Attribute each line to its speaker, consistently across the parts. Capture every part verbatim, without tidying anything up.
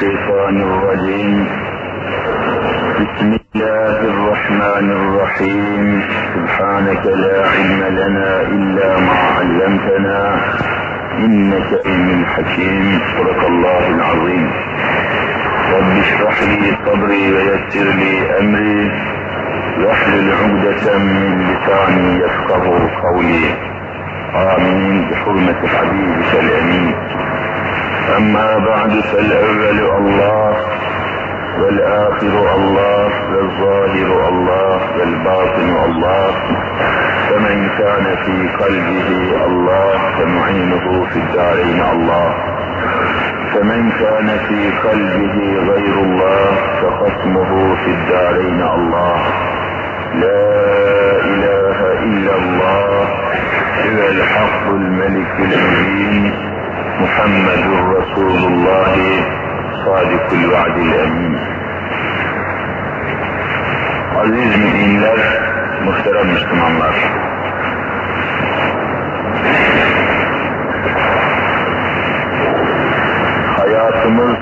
Speaker 1: الشيطان الرجيم. بسم الله الرحمن الرحيم. سبحانك لا علم لنا إلا ما علمتنا إنك أنت الحكيم. صدق الله العظيم. رب اشرح لي صدري ويسر لي أمري واحلل عقدة من لساني يفقه قولي. آمين بحرمة حبيبك الأمين. أما بعد فالأول الله والآخر الله والظاهر الله والباطن الله، فمن كان في قلبه الله فمعينه في الدارين الله، فمن كان في قلبه غير الله فخصمه في الدارين الله. لا إله إلا الله هو الحق الملك المبين محمد رسول الله صادق الوعد الأمين. Aziz müminler, muhterem Müslümanlar, hayatımız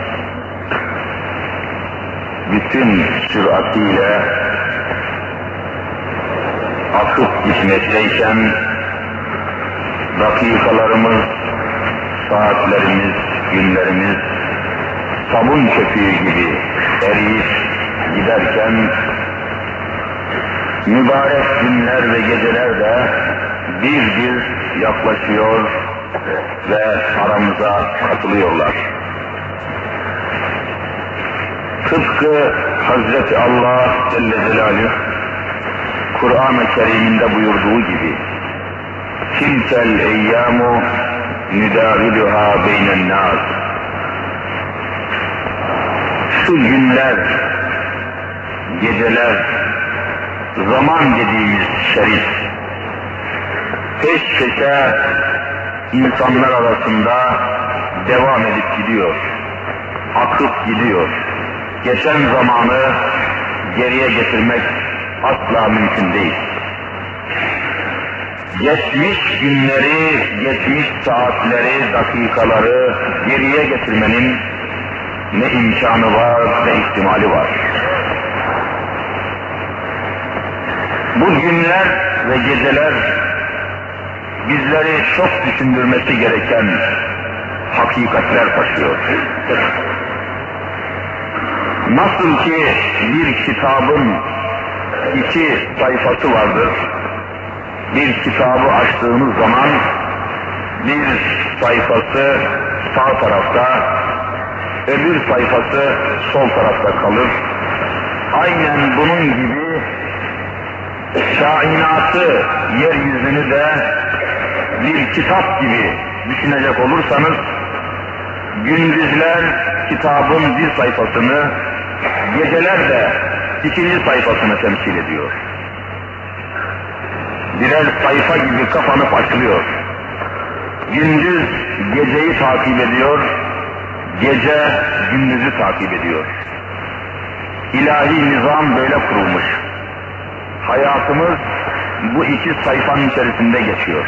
Speaker 1: bütün süratiyle akıp gitmekteyken, dakikalarımız, saatlerimiz, günlerimiz sabun köpüğü gibi eriyip giderken, mübarek günler ve geceler de bir bir yaklaşıyor ve aramıza katılıyorlar. Tıpkı Hazreti Allah Celle Celaluhu Kur'an-ı Kerim'inde buyurduğu gibi, tilkel eyyamu nüdaviluha beynen nas. Şu günler, geceler, zaman dediğimiz şerif, peş peşe insanlar arasında devam edip gidiyor, akıp gidiyor. Geçen zamanı geriye getirmek asla mümkün değil. Geçmiş günleri, geçmiş saatleri, dakikaları geriye getirmenin ne imkanı var, ne ihtimali var. Bu günler ve geceler bizleri çok düşündürmesi gereken hakikatler taşıyor. Nasıl ki bir kitabın iki sayfası vardır, bir kitabı açtığınız zaman bir sayfası sağ tarafta, öbür sayfası sol tarafta kalır. Aynen bunun gibi kainatı, yeryüzünü de bir kitap gibi düşünecek olursanız, gündüzler kitabın bir sayfasını, geceler de ikinci sayfasını temsil ediyor. Birer sayfa gibi kapanıp açılıyor. Gündüz geceyi takip ediyor, gece gündüzü takip ediyor. İlahi nizam böyle kurulmuş. Hayatımız bu iki sayfanın içerisinde geçiyor.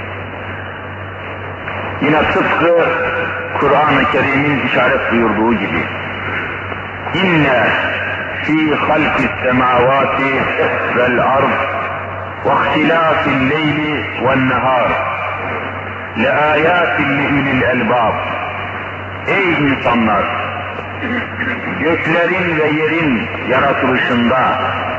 Speaker 1: Yine tıpkı Kur'an-ı Kerim'in işaret buyurduğu gibi, İnne fî halkis semâvâti vel ard وَاخْتِلَافِ اللَّيْلِ وَالنَّهَارِ لَآيَاتٍ لِأُولِي الْأَلْبَابِ. Ey insanlar! Göklerin ve yerin yaratılışında,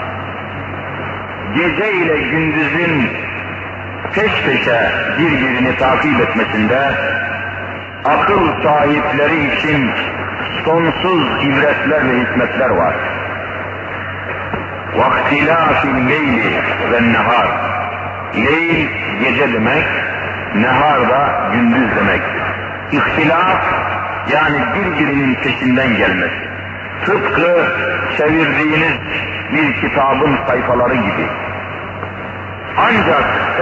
Speaker 1: gece ile gündüzün peş peşe birbirini takip etmesinde, akıl sahipleri için sonsuz ibretler ve hikmetler var. وَاخْتِلَافِ اللَّيْلِ وَالنَّهَارِ. Leyl gece demek, nehar da gündüz demek. İhtilaf, yani birbirinin peşinden gelmesi. Tıpkı çevirdiğiniz bir kitabın sayfaları gibi. Ancak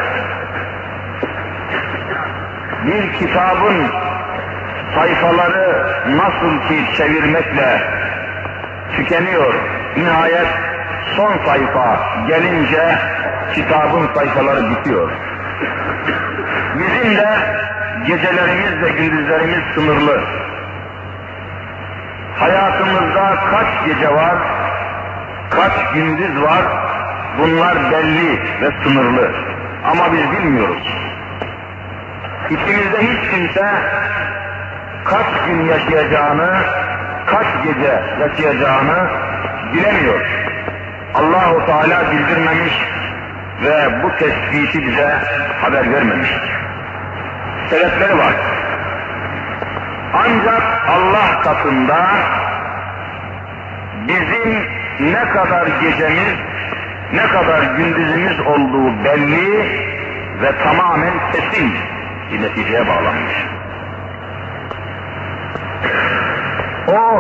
Speaker 1: bir kitabın sayfaları nasıl ki çevirmekle tükeniyor, nihayet son sayfa gelince kitabın sayfaları bitiyor. Bizim de gecelerimiz ve gündüzlerimiz sınırlı. Hayatımızda kaç gece var, kaç gündüz var, bunlar belli ve sınırlı. Ama biz bilmiyoruz. İçimizde hiç kimse kaç gün yaşayacağını, kaç gece yaşayacağını bilemiyor. Allah-u Teala bildirmemiş ve bu tespiti bize haber vermemiş. Sebepleri var. Ancak Allah katında bizim ne kadar gecemiz, ne kadar gündüzümüz olduğu belli ve tamamen kesin bir neticeye bağlanmış. O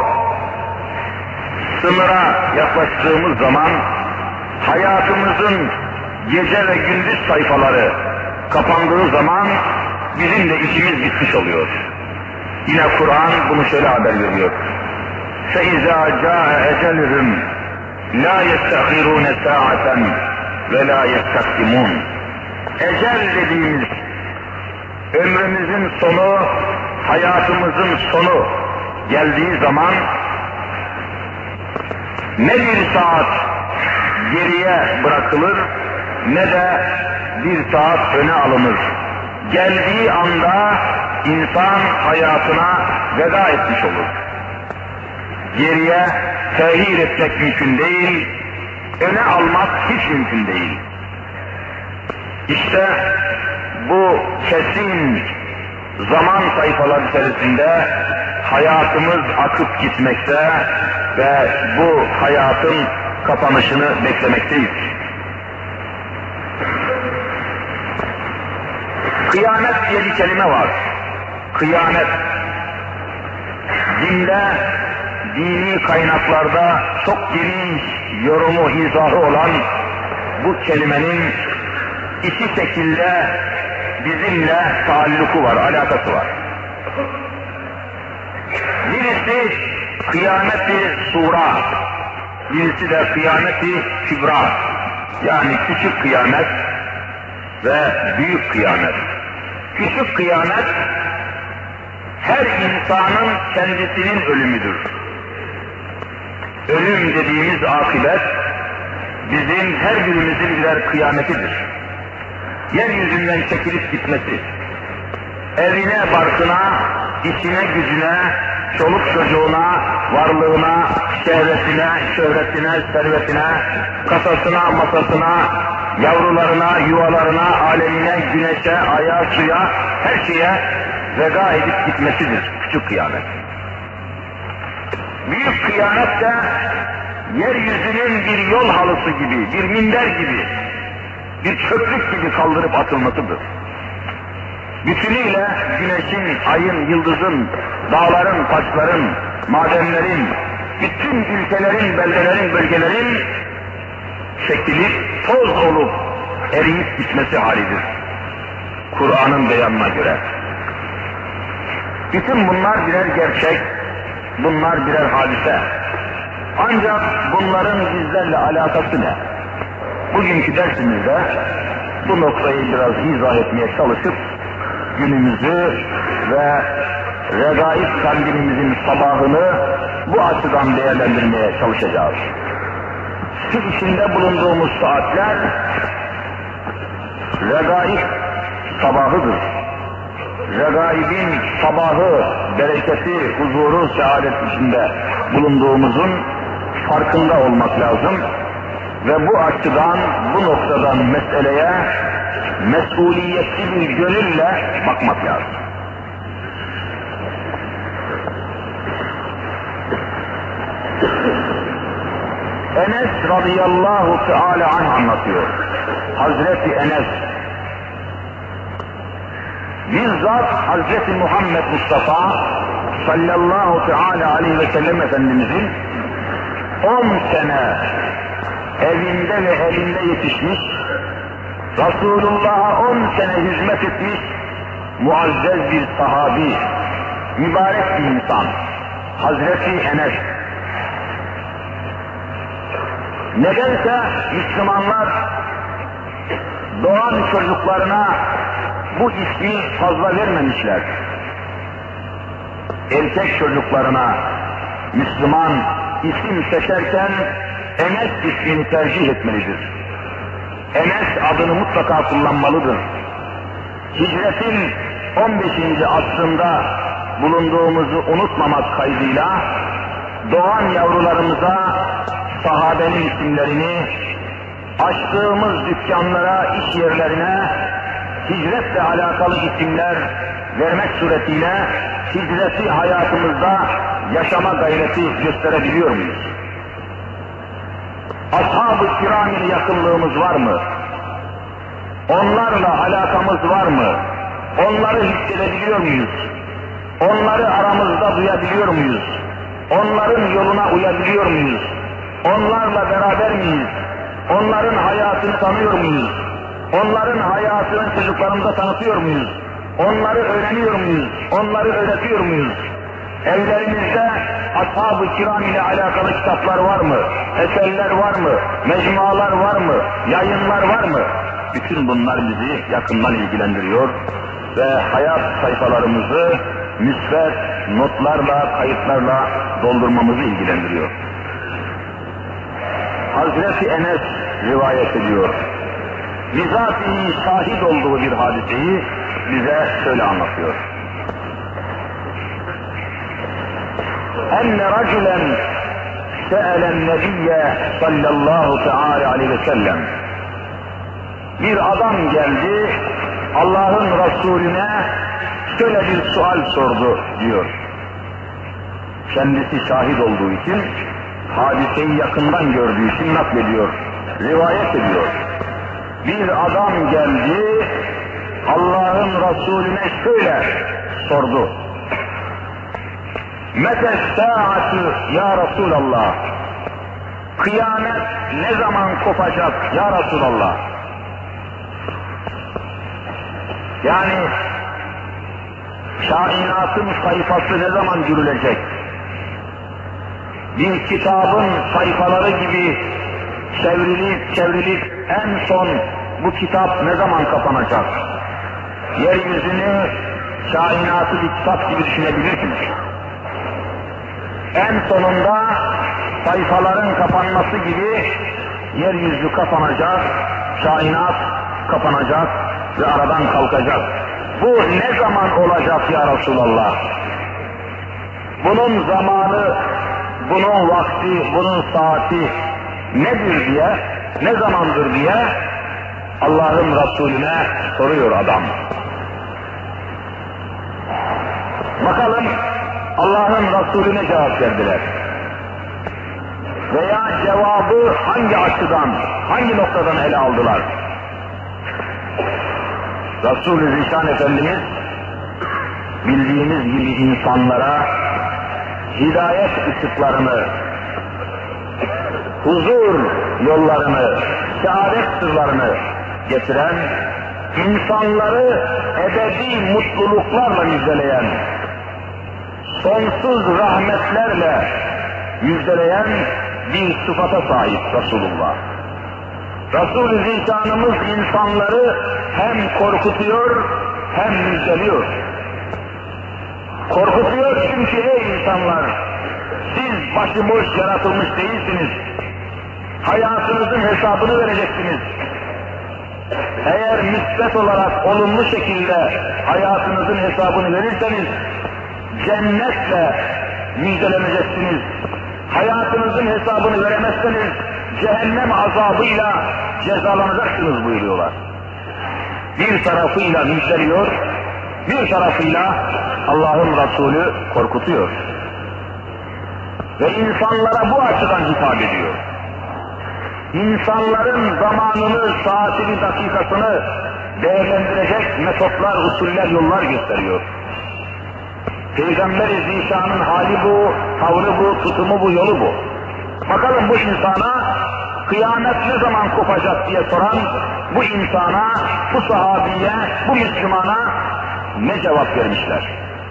Speaker 1: sınıra yaklaştığımız zaman hayatımızın gece ve gündüz sayfaları kapandığı zaman bizim de işimiz bitmiş oluyor. Yine Kur'an bunu şöyle haber veriyor. فَاِذَا جَاءَ اَجَلِهِمْ لَا يَسْتَخِرُونَ سَاعَةً وَلَا يَسْتَقْدِمُونَ. Ecel dediğimiz ömrümüzün sonu, hayatımızın sonu geldiği zaman ne bir saat geriye bırakılır ne de bir saat öne alınır. Geldiği anda insan hayatına veda etmiş olur. Geriye tehir etmek mümkün değil, öne almak hiç mümkün değil. İşte bu kesin zaman sayfaları içerisinde hayatımız akıp gitmekte ve bu hayatın kapanışını beklemekteyiz. Kıyamet diye bir kelime var. Kıyamet. Dinde, dini kaynaklarda çok geniş yorumu, izahı olan bu kelimenin iki şekilde bizimle taalluku var, alakası var. Birisi kıyameti sura, birisi de kıyameti kübra. Yani küçük kıyamet ve büyük kıyamet. Küçük kıyamet her insanın kendisinin ölümüdür. Ölüm dediğimiz akıbet bizim her birimizin birer kıyametidir. Yeryüzünden çekilip gitmesi, evine, barkına, işine, gücüne, çoluk çocuğuna, varlığına, şehvetine, şöhretine, servetine, kasasına, masasına, yavrularına, yuvalarına, alemine, güneşe, aya, suya, her şeye veda edip gitmesidir küçük kıyamet. Büyük kıyamet de yeryüzünün bir yol halısı gibi, bir minder gibi, bir çöplük gibi kaldırıp atılmasıdır. Bütünüyle güneşin, ayın, yıldızın, dağların, taşların, madenlerin, bütün ülkelerin, beldelerin, bölgelerin çekilip toz olup eriyip gitmesi halidir. Kur'an'ın beyanına göre. Bütün bunlar birer gerçek, bunlar birer hadise. Ancak bunların bizlerle alakası ne? Bugünkü dersimizde bu noktayı biraz izah etmeye çalışıp günümüzü ve regaib kandimimizin sabahını bu açıdan değerlendirmeye çalışacağız. Şu içinde bulunduğumuz saatler regaib sabahıdır. Regaibin sabahı, bereketi, huzuru, saadet içinde bulunduğumuzun farkında olmak lazım. Ve bu açıdan, bu noktadan meseleye mesuliyetli bir gönülle bakmak lazım. Enes radıyallahu teala anh anlatıyor. Hazreti Enes, bizzat Hazreti Muhammed Mustafa sallallahu teala aleyhi ve sellem Efendimizin on sene evinde ve elinde yetişmiş, Resulullah'a on sene hizmet etmiş muazzez bir sahabi, mübarek bir insan, Hazreti Enes. Nedense Müslümanlar doğan çocuklarına bu ismi fazla vermemişler. Erkek çocuklarına Müslüman isim seçerken Enes ismini tercih etmelidir. Enes adını mutlaka kullanmalıdır. Hicretin on beşinci asrında bulunduğumuzu unutmamak kaydıyla doğan yavrularımıza sahabenin isimlerini, açtığımız dükkanlara, iş yerlerine hicretle alakalı isimler vermek suretiyle hicreti hayatımızda yaşama gayreti gösterebiliyor muyuz? Ashab-ı kiram ile yakınlığımız var mı? Onlarla alakamız var mı? Onları hissedebiliyor muyuz? Onları aramızda duyabiliyor muyuz? Onların yoluna uyabiliyor muyuz? Onlarla beraber miyiz? Onların hayatını tanıyor muyuz? Onların hayatını çocuklarımıza tanıtıyor muyuz? Onları öğreniyor muyuz? Onları öğretiyor muyuz? Evlerimizde ashab-ı kiram ile alakalı kitaplar var mı? Eserler var mı? Mecmualar var mı? Yayınlar var mı? Bütün bunlar bizi yakından ilgilendiriyor ve hayat sayfalarımızı müsbet notlarla, kayıtlarla doldurmamızı ilgilendiriyor. Hazreti Enes rivayet ediyor. Bizatihi şahit olduğu bir hadiseyi bize şöyle anlatıyor. Enne raculen se'elen nebiyye sallallahu teala aleyhi ve sellem. Bir adam geldi, Allah'ın Resulüne şöyle bir sual sordu diyor. Kendisi şahit olduğu için, hadiseyi yakından gördüğü için naklediyor, rivayet ediyor. Bir adam geldi, Allah'ın Resulüne şöyle sordu. Mete saatü ya Resulallah. Kıyamet ne zaman kopacak ya Resulallah? Yani kainatın sayfası ne zaman görülecek? Bir kitabın sayfaları gibi çevrilip çevrilip en son bu kitap ne zaman kapanacak? Yeryüzünü kainatı bir kitap gibi düşünebilirsiniz. En sonunda sayfaların kapanması gibi yeryüzü kapanacak, kainat kapanacak ve aradan kalkacak. Bu ne zaman olacak ya Resulallah? Bunun zamanı, bunun vakti, bunun saati nedir diye, ne zamandır diye Allah'ın Resulüne soruyor adam. Bakalım Allah'ın Resulüne cevap verdiler. Veya cevabı hangi açıdan, hangi noktadan ele aldılar? Resul-i Zişan Efendimiz bildiğiniz gibi insanlara hidayet ışıklarını, huzur yollarını, saadet sırlarını getiren, insanları ebedi mutluluklarla müjdeleyen, sonsuz rahmetlerle müjdeleyen bir sıfata sahip Resulullah. Resul-i Zişanımız insanları hem korkutuyor hem müjdeliyor. Korkutuyor çünkü ey insanlar, siz başıboş yaratılmış değilsiniz. Hayatınızın hesabını vereceksiniz. Eğer müsbet olarak olumlu şekilde hayatınızın hesabını verirseniz cennetle müjdeleneceksiniz. Hayatınızın hesabını veremezseniz cehennem azabıyla cezalanacaksınız buyuruyorlar. Bir tarafıyla müjdeliyor, bir tarafıyla Allah'ın Resulü korkutuyor. Ve insanlara bu açıdan hitap ediyor. İnsanların zamanını, saatini, dakikasını değerlendirecek metotlar, usuller, yollar gösteriyor. Peygamber-i Zişan'ın hali bu, tavrı bu, tutumu bu, yolu bu. Bakalım bu insana kıyamet ne zaman kopacak diye soran bu insana, bu sahabiye, bu Müslümana ne cevap vermişler?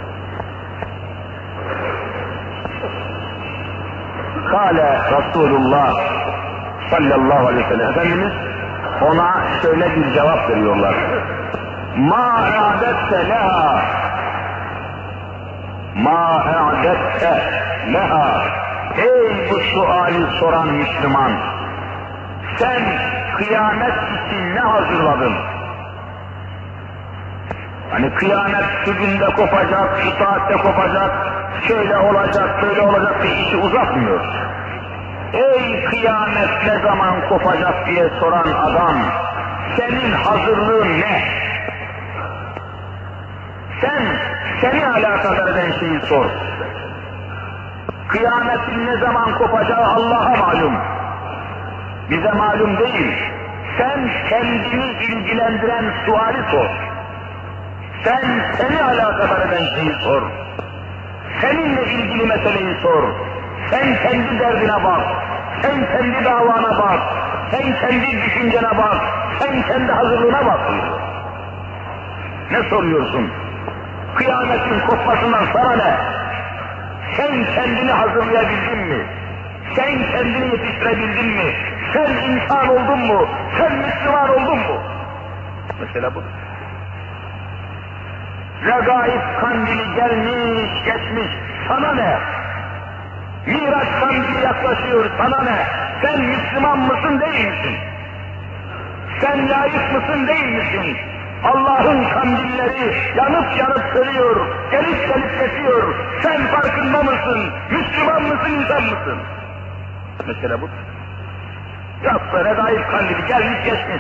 Speaker 1: Kâle Resulullah sallallahu aleyhi ve sellem Efendimiz ona şöyle bir cevap veriyorlar. Ma a'dette leha ma a'dette leha. Ey bu suali soran Müslüman, sen kıyamet için ne hazırladın? Hani kıyamet şu günde kopacak, şu saatte kopacak, şöyle olacak, böyle olacak diye işi uzatmıyor. Ey kıyamet ne zaman kopacak diye soran adam, senin hazırlığın ne? Sen, seni alakadar eden şeyi sor. Kıyametin ne zaman kopacağı Allah'a malum. Bize malum değil. Sen kendini ilgilendiren suali sor. Sen seni alakadar eden şeyi sor. Seninle ilgili meseleyi sor. Sen kendi derdine bak. Sen kendi davana bak. Sen kendi düşüncene bak. Sen kendi hazırlığına bak. Ne soruyorsun? Kıyametin kopmasından sana ne? Sen kendini hazırlayabildin mi? Sen kendini yetiştirebildin mi? Sen insan oldun mu? Sen Müslüman oldun mu? Mesela bu. Regaib kandili gelmiş, geçmiş, sana ne? Miraç kandili yaklaşıyor, sana ne? Sen Müslüman mısın, değil misin? Sen layık mısın, değil misin? Allah'ın kandilleri yanıp yanıp sönüyor, gelip gelip geçiyor. Sen farkında mısın? Müslüman mısın, insan mısın? Mesela bu. Yoksa regaib kandili gelmiş geçmiş.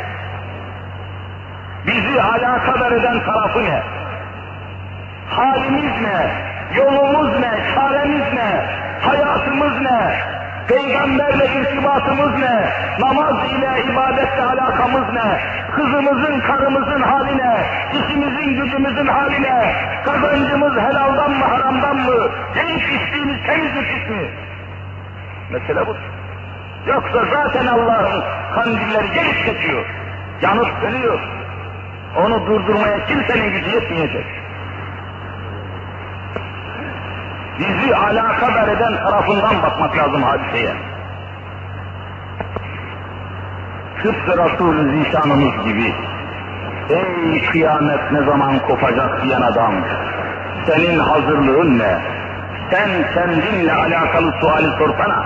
Speaker 1: Bizi alakadar eden tarafı ne? Halimiz ne? Yolumuz ne? Çaremiz ne? Hayatımız ne? Peygamberle irtibatımız ne? Namaz ile, ibadetle alakamız ne? Kızımızın, karımızın hali ne? İşimizin, gücümüzün hali ne? Kazancımız helaldan mı, haramdan mı? Yiyip içtiğimiz temiz mi, pis mi? Mesele bu. Yoksa zaten Allah'ın kandilleri gelip geçiyor. Yanıp sönüyor. Onu durdurmaya kimsenin gücü yetmeyecek. Bizi alakadar eden tarafından bakmak lazım hadiseye. Tıpkı Resul-i Zişanımız gibi, ey kıyamet ne zaman kopacak diyen adam, senin hazırlığın ne? Sen kendinle alakalı suali sorsana.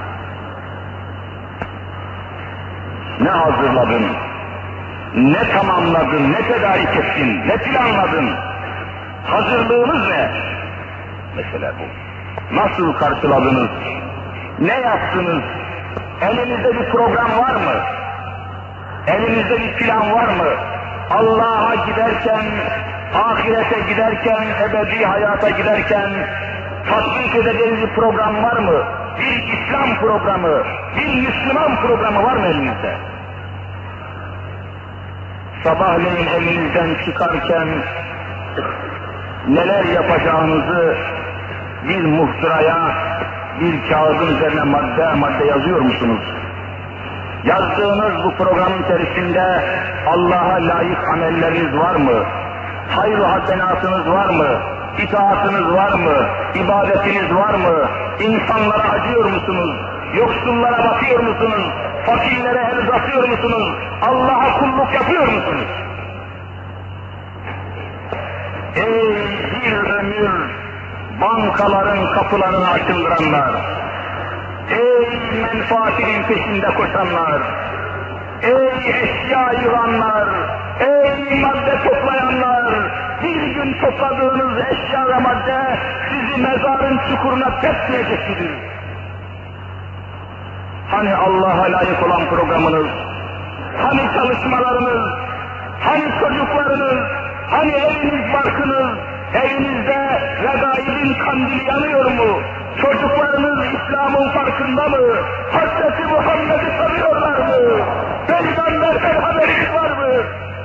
Speaker 1: Ne hazırladın? Ne tamamladın? Ne tedarik ettin? Ne planladın? Hazırlığınız ne? Mesela bu. Nasıl karşıladınız? Ne yaptınız? Elinizde bir program var mı? Elinizde bir plan var mı? Allah'a giderken, ahirete giderken, ebedi hayata giderken tatbik edeceğiniz bir program var mı? Bir İslam programı, bir Müslüman programı var mı elinizde? Sabahleyin elinizden çıkarken neler yapacağınızı bir muhtıraya, bir kağıdın üzerine madde madde yazıyor musunuz? Yazdığınız bu programın içerisinde Allah'a layık amelleriniz var mı? Hayır-ı hasenatınız var mı? İtaatınız var mı? İbadetiniz var mı? İnsanlara acıyor musunuz? Yoksullara bakıyor musunuz? Fakirlere el uzatıyor musunuz? Allah'a kulluk yapıyor musunuz? Ey bir ömür bankaların kapılarını açıldıranlar, ey menfaatinin peşinde koşanlar, ey eşya yığanlar, ey madde toplayanlar, bir gün topladığınız eşya ve madde sizi mezarın çukuruna tepmeyecek midir? Hani Allah'a layık olan programınız, hani çalışmalarınız, hani çocuklarınız, hani eviniz barkınız, evinizde regaibin kandili yanıyor mu? Çocuklarınız İslam'ın farkında mı? Hazreti Muhammed'i tanıyorlar mı? Peygamberden haberiniz var mı?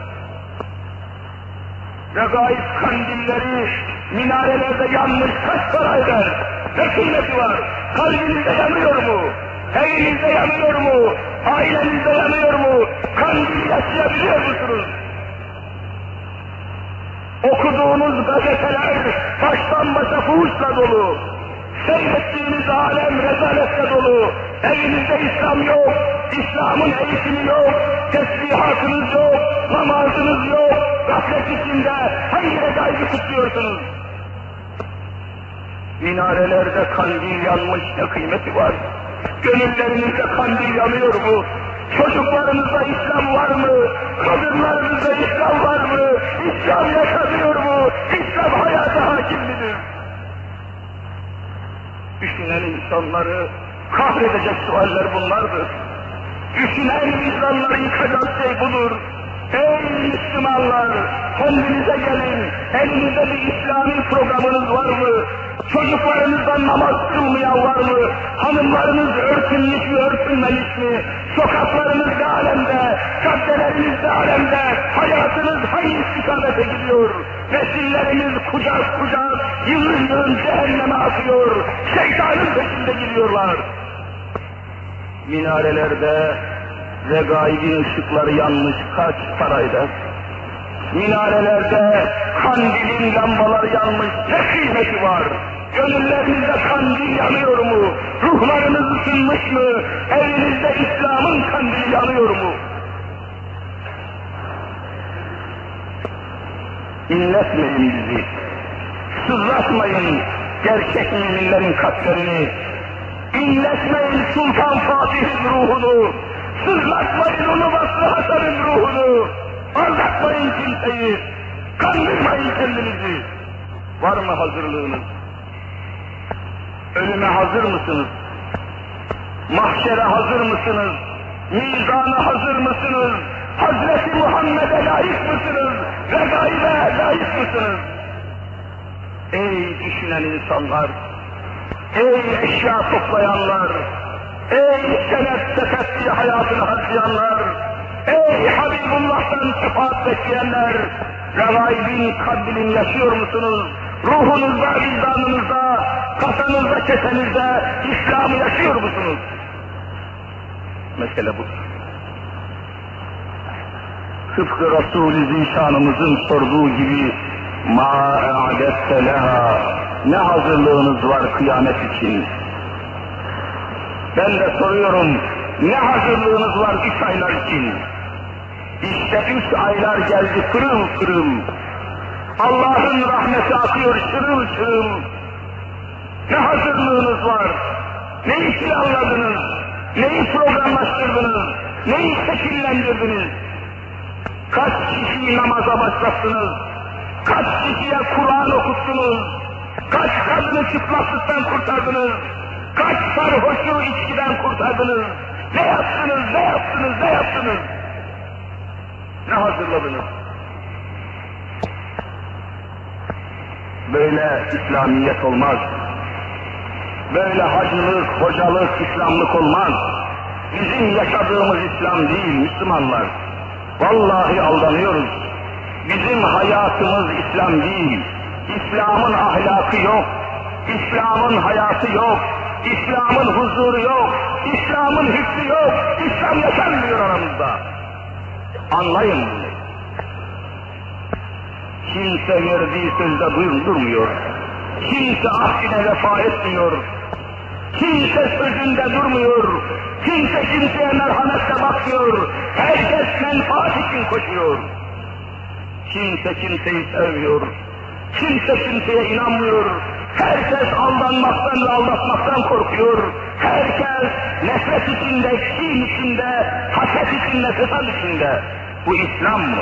Speaker 1: Regaib kandilleri minarelerde yanmış kaç para eder? Ne kıymeti var? Kalbinizde yanıyor mu? Evinizde yanıyor mu? Ailenizde yanıyor mu? Kandil yaşayabiliyor musunuz? Okuduğunuz gazeteler baştan başa fuhuşla dolu. Seyrettiğiniz alem rezaletle dolu. Evinizde İslam yok, İslam'ın eğitimi yok, tesbihatınız yok, namazınız yok, gaflet içinde hangi regaibi kutluyorsunuz? Minarelerde kandil yanmış, ne kıymeti var? Gönüllerinizde kandil yanıyor mu? Çocuklarınızda İslam var mı? Kadınlarınızda İslam var mı? İslam yaşanıyor mu? İslam hayata hakim midir? Düşünen insanları kahredecek sualler bunlardır. Düşünen insanları yıkacak şey budur. Ey Müslümanlar! Kendinize gelin! Elinizde bir İslami programınız var mı? Çocuklarınızdan namaz kılmayan var mı? Hanımlarınız örtünmüş mü, örtünmemiş mi? Sokaklarınız ne alemde? Caddeleriniz ne alemde? Hayatınız hangi istikamete gidiyor? Nesilleriniz kucak kucak, yığın yığın cehenneme akıyor. Şeytanın peşinde gidiyorlar. Minarelerde regaibin ışıkları yanmış, kaç parayla? Minarelerde kandilin lambaları yanmış, ne kıymeti var? Gönüllerinizde kandil yanıyor mu? Ruhlarınız ısınmış mı? Evinizde İslam'ın kandili yanıyor mu? İnletmeyin bizi. Sızlatmayın gerçek müminlerin kalplerini. İnletmeyin Sultan Fatih'in ruhunu. Sızlatmayın onu Vasfı Hasan'ın ruhunu. Aldatmayın kimseyi. Kandırmayın kendinizi. Var mı hazırlığınız? Ölüme hazır mısınız? Mahşere hazır mısınız? Mizana hazır mısınız? Hazreti Muhammed'e layık mısınız? Regaibe layık mısınız? Ey düşünen insanlar! Ey eşya toplayanlar! Ey senet sepetli hayatını harcayanlar! Ey Habibullah'tan şefaat bekleyenler! Regaibin kandilini yaşıyor musunuz? Ruhunuzda, vicdanınızda, kasanızda, kesenizde İslam'ı yaşıyor musunuz? Mesele budur. Tıpkı Resul-i Zişanımızın sorduğu gibi مَا اَعْدَتَّ لَهَا Ne hazırlığınız var kıyamet için? Ben de soruyorum, ne hazırlığınız var üç aylar için? İşte üç aylar geldi pırıl pırıl. Allah'ın rahmeti akıyor şırıl şırıl. Ne hazırlığınız var? Neyi planladınız? Neyi programlaştırdınız? Neyi şekillendirdiniz? Kaç kişiyi namaza başlattınız? Kaç kişiye Kur'an okuttunuz? Kaç kadını çıplaklıktan kurtardınız? Kaç sarhoşu içkiden kurtardınız? Ne yaptınız, ne yaptınız, ne yaptınız? Ne hazırladınız? Böyle İslamiyet olmaz. Böyle hacılık, hocalık, İslamlık olmaz. Bizim yaşadığımız İslam değil Müslümanlar. Vallahi aldanıyoruz. Bizim hayatımız İslam değil. İslam'ın ahlakı yok. İslam'ın hayatı yok. İslam'ın huzuru yok. İslam'ın hükmü yok. İslam yaşanmıyor aramızda. Anlayın bunu. Kimse verdiği sözde durmuyor. Kimse ahdine vefa etmiyor. Kimse sözünde durmuyor. Kimse kimseye merhametle bakmıyor. Herkes menfaat için koşuyor. Kimse kimseyi sevmiyor. Kimse kimseye inanmıyor. Herkes aldanmaktan ve aldatmaktan korkuyor. Herkes nefret içinde, kin içinde, haset içinde, fesat içinde. Bu İslam mı?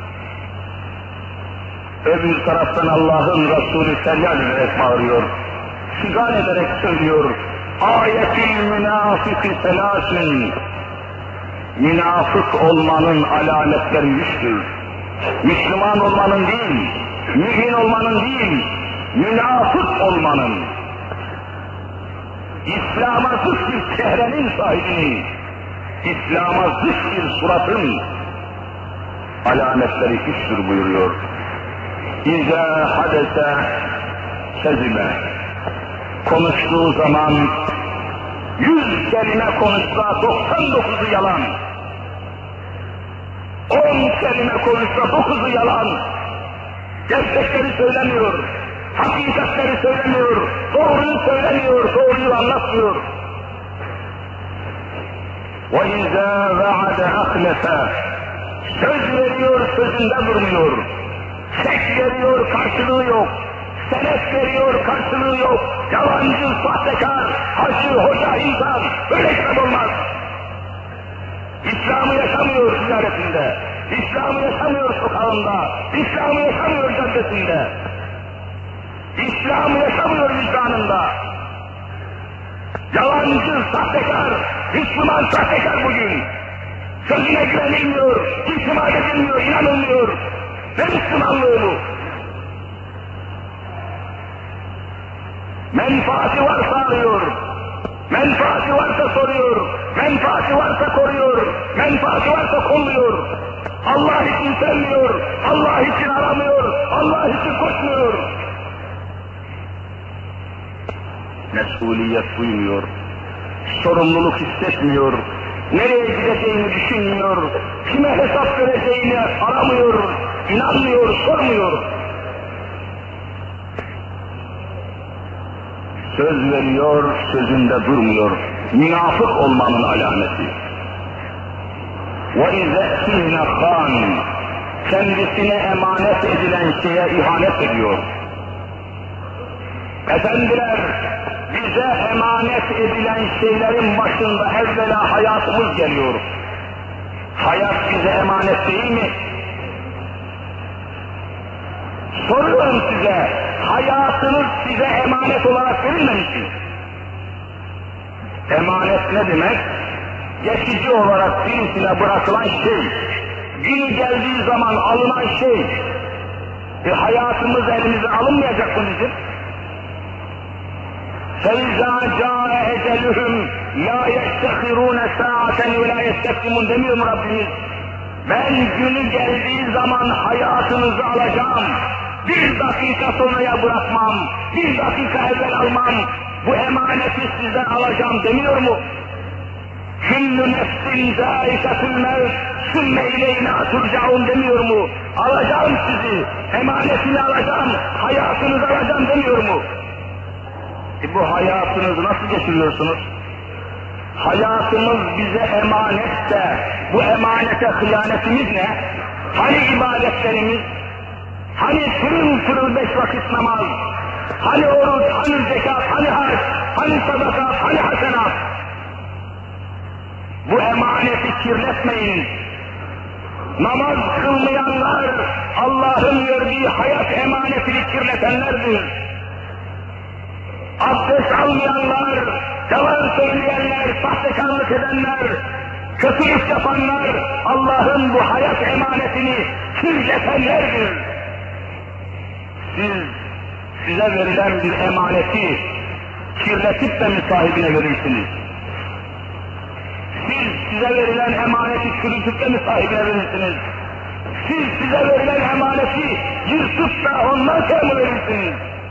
Speaker 1: Öbür taraftan Allah'ın Resulü feryal ederek bağırıyor. Figan ederek söylüyor. Ayetil münafıkı selâsün. Münafık olmanın alametleri üçtür. Müslüman olmanın değil, mümin olmanın değil, münafık olmanın. İslam'a zıt bir çehrenin sahibinin, İslam'a zıt bir suratın alametleri üçtür buyuruyor. İzâ hadese kezime. Konuştuğu zaman yüz kelime konuşsa doksan dokuzu yalan. On kelime konuşsa dokuzu yalan. Gerçekleri söylemiyor. Hakikatleri söylemiyor. Doğruyu söylemiyor. Doğruyu anlatmıyor. وَاِذَا وَعَدَ اَخْلَفَ Söz veriyor, sözünde durmuyor. Çek veriyor, karşılığı yok. senet veriyor, karşılığı yok. Yalancı, sahtekar, hacı, hoca, insan, böyle İslam olmaz. İslam'ı yaşamıyor ziyaretinde, İslam'ı yaşamıyor sokağında, İslam'ı yaşamıyor caddesinde, İslam'ı yaşamıyor vicdanında. Yalancı, sahtekar, Müslüman sahtekar bugün. Sözüne güvenilmiyor, itimat edilmiyor, inanılmıyor. Ne Müslümanlığı bu? Menfaati varsa arıyor, menfaati varsa soruyor, menfaati varsa koruyor, menfaati varsa kolluyor. Allah için sevmiyor, Allah için aramıyor, Allah için koşmuyor. Mesuliyet duymuyor, sorumluluk hissetmiyor, nereye gideceğini düşünmüyor, kime hesap vereceğini aramıyor, inanmıyor, sormuyor. Söz veriyor, sözünde durmuyor. Münafık olmanın alameti. وَاِذَا اِذْنَ خَانٍ kendisine emanet edilen şeye ihanet ediyor. Efendiler, bize emanet edilen şeylerin başında evvela hayatımız geliyor. Hayat bize emanet değil mi? Soruyorum size, hayatınız size emanet olarak verilmemiş mi? Emanet ne demek? Geçici olarak birisine bırakılan şey, günü geldiği zaman alınan şey. E hayatımız elimize alınmayacak mı bizim? فَاِذَا جَاءَ اَجَلُهُمْ لَا يَسْتَخِرُونَ سَاعَةً وَلَا يَسْتَقْدِمُونَ demiyor mu Rabbimiz? Ben günü geldiği zaman hayatınızı alacağım. Bir dakika sonraya bırakmam, bir dakika evvel almam, bu emaneti sizden alacağım demiyor mu? Küllü nefsin zâikatül mevt, sümme ileyna turcaun demiyor mu? Alacağım sizi, emanetini alacağım, hayatınızı alacağım demiyor mu? E bu hayatınızı nasıl geçiriyorsunuz? Hayatımız bize emanet de, bu emanete hıyanetimiz ne? Hani ibadetlerimiz? Hani pırıl pırıl beş vakit namaz? Hani oruç, hani zekat, hani hac, hani sadaka, hani hasenat? Bu emaneti kirletmeyin. Namaz kılmayanlar, Allah'ın verdiği hayat emanetini kirletenlerdir. Abdest almayanlar, yalan söyleyenler, sahtekarlık edenler, kötülük yapanlar, Allah'ın bu hayat emanetini kirletenlerdir. Siz, size verilen bir emaneti kirletip de mi sahibine verirsiniz? Siz, size verilen emaneti çürütüp de mi sahibine verirsiniz? Siz, size verilen emaneti yırtıp da ondan sonra mı verirsiniz?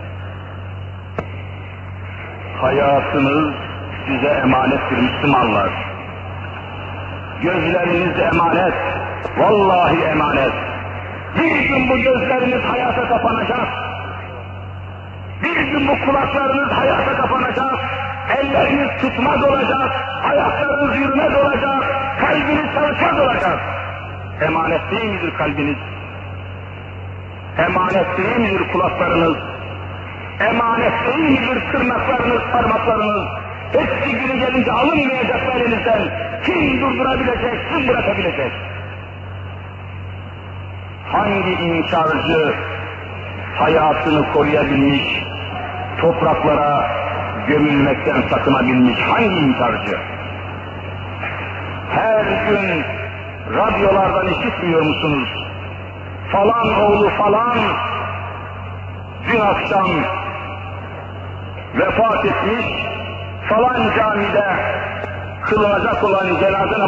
Speaker 1: Hayatınız size emanettir Müslümanlar. Gözleriniz emanet, vallahi emanet. Bir gün bu gözleriniz hayata kapanacak. Bir gün bu kulaklarınız hayata kapanacak. Elleriniz tutmaz olacak, ayaklarınız yürümez olacak, kalbiniz çalışmaz olacak. Emanet değil midir kalbiniz? Emanet değil midir kulaklarınız? Emanet değil midir tırnaklarınız, parmaklarınız? Hepsi günü gelince alınmayacak elinizden. Kim durdurabilecek, kim bırakabilecek? Hangi inkarcı hayatını koruyabilmiş, topraklara gömülmekten sakınabilmiş hangi inkarcı? Her gün radyolardan işitmiyor musunuz? Falan oğlu falan dün akşam vefat etmiş, falan camide kılınacak olan cenaze